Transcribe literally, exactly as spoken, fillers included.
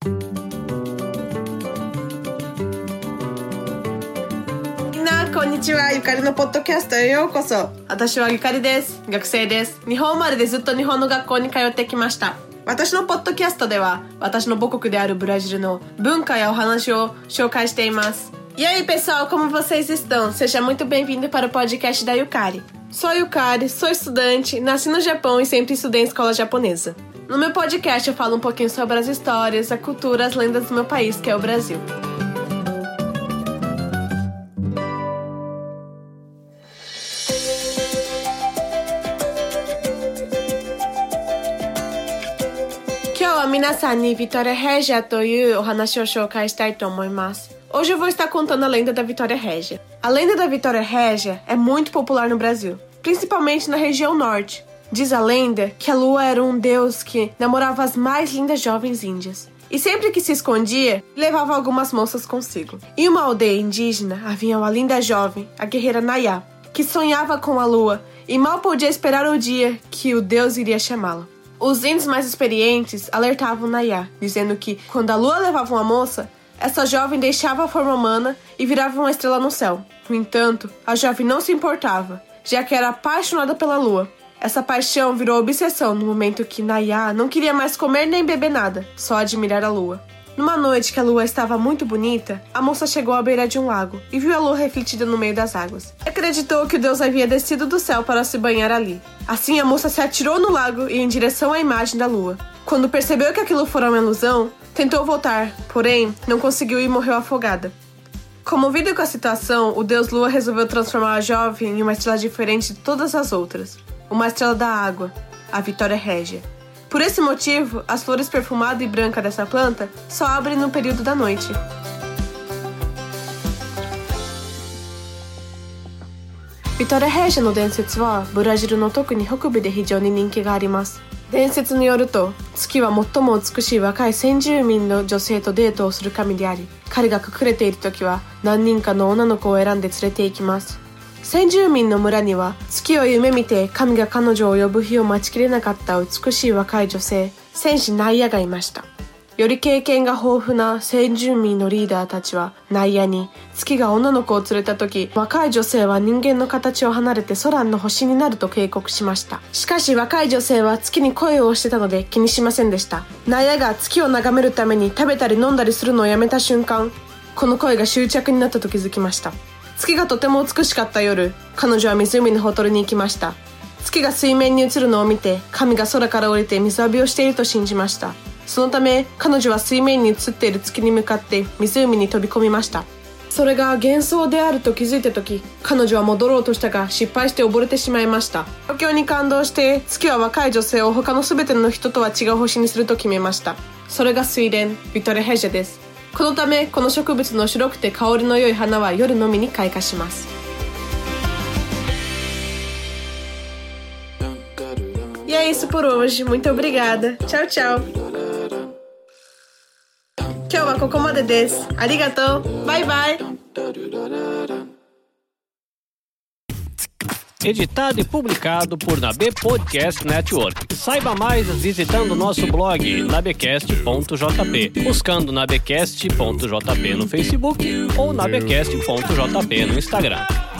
こんにちは、ゆかりのポッドキャストへようこそ。私はゆかりです。学生です。日本生まれでずっと日本の学校に通ってきました。私のポッドキャストでは、私の母国であるブラジルの文化やお話を紹介しています。E aí, pessoal, como vocês estão? Seja muito bem-vindo para o podcast da Yukari. Sou a Yukari, sou estudante, nasci no Japão e sempre estudei em escola japonesa. No meu podcast eu falo um pouquinho sobre as histórias, a cultura, as lendas do meu país, que é o Brasil. Minasan ni Vitória Régia toいうお話を紹介したいと思います。Hoje eu vou estar contando a lenda da Vitória Régia. A lenda da Vitória Régia é muito popular no Brasil, principalmente na região norte. Diz a lenda que a lua era um deus que namorava as mais lindas jovens índias. E sempre que se escondia, levava algumas moças consigo. Em uma aldeia indígena havia uma linda jovem, a guerreira Nayá, que sonhava com a lua e mal podia esperar o dia que o deus iria chamá-la. Os índios mais experientes alertavam Nayá, dizendo que, quando a lua levava uma moça, essa jovem deixava a forma humana e virava uma estrela no céu. No entanto, a jovem não se importava, já que era apaixonada pela lua. Essa paixão virou obsessão no momento que Nayá não queria mais comer nem beber nada, só admirar a lua. Numa noite que a lua estava muito bonita, a moça chegou à beira de um lago e viu a lua refletida no meio das águas. Acreditou que o deus havia descido do céu para se banhar ali. Assim, a moça se atirou no lago e em direção à imagem da lua. Quando percebeu que aquilo fora uma ilusão, tentou voltar, porém, não conseguiu e morreu afogada. Comovido com a situação, o deus Lua resolveu transformar a jovem em uma estrela diferente de todas as outras. Uma estrela da água, a Vitória Régia. Por esse motivo, as flores perfumadas e brancas dessa planta só abrem no período da noite. Vitória Régia no densetsu wa Brasil no特に北部で非常に人気があります。伝説によると、月は最も美しい若い先住民の女性とデートをする神であり、彼が隠れているときは何人かの女の子を選んで連れて行きます。先住民の村には月を夢見て神が彼女を呼ぶ日を待ちきれなかった美しい若い女性、戦士ナイヤがいました。より経験が豊富な先住民のリーダーたちはナイヤに月が女の子を連れた時、若い女性は人間の形を離れて空の星になると警告しました。しかし若い女性は月に恋をしてたので気にしませんでした。ナイヤが月を眺めるために食べたり飲んだりするのをやめた瞬間、この恋が執着になったと気づきました。月がとても美しかった夜、彼女は湖のほとりに行きました。月が水面に映るのを見て、神が空から降りて水浴びをしていると信じました。そのため、彼女は水面に映っている月に向かって湖に飛び込みました。それが幻想であると気づいたとき、彼女は戻ろうとしたが失敗して溺れてしまいました。状況に感動して、月は若い女性を他のすべての人とは違う星にすると決めました。それが水蓮、ビトレヘジェです。このため、この植物の白くて香りの良い花は夜のみに開花します。E é isso por hoje. Muito obrigada. Tchau, tchau. 今日はここまでです。ありがとう。バイバイ。 Editado e publicado por Nabe Podcast Network. Saiba mais visitando nosso blog nabecast ponto jp, buscando nabecast ponto jp no Facebook ou nabecast ponto jp no Instagram.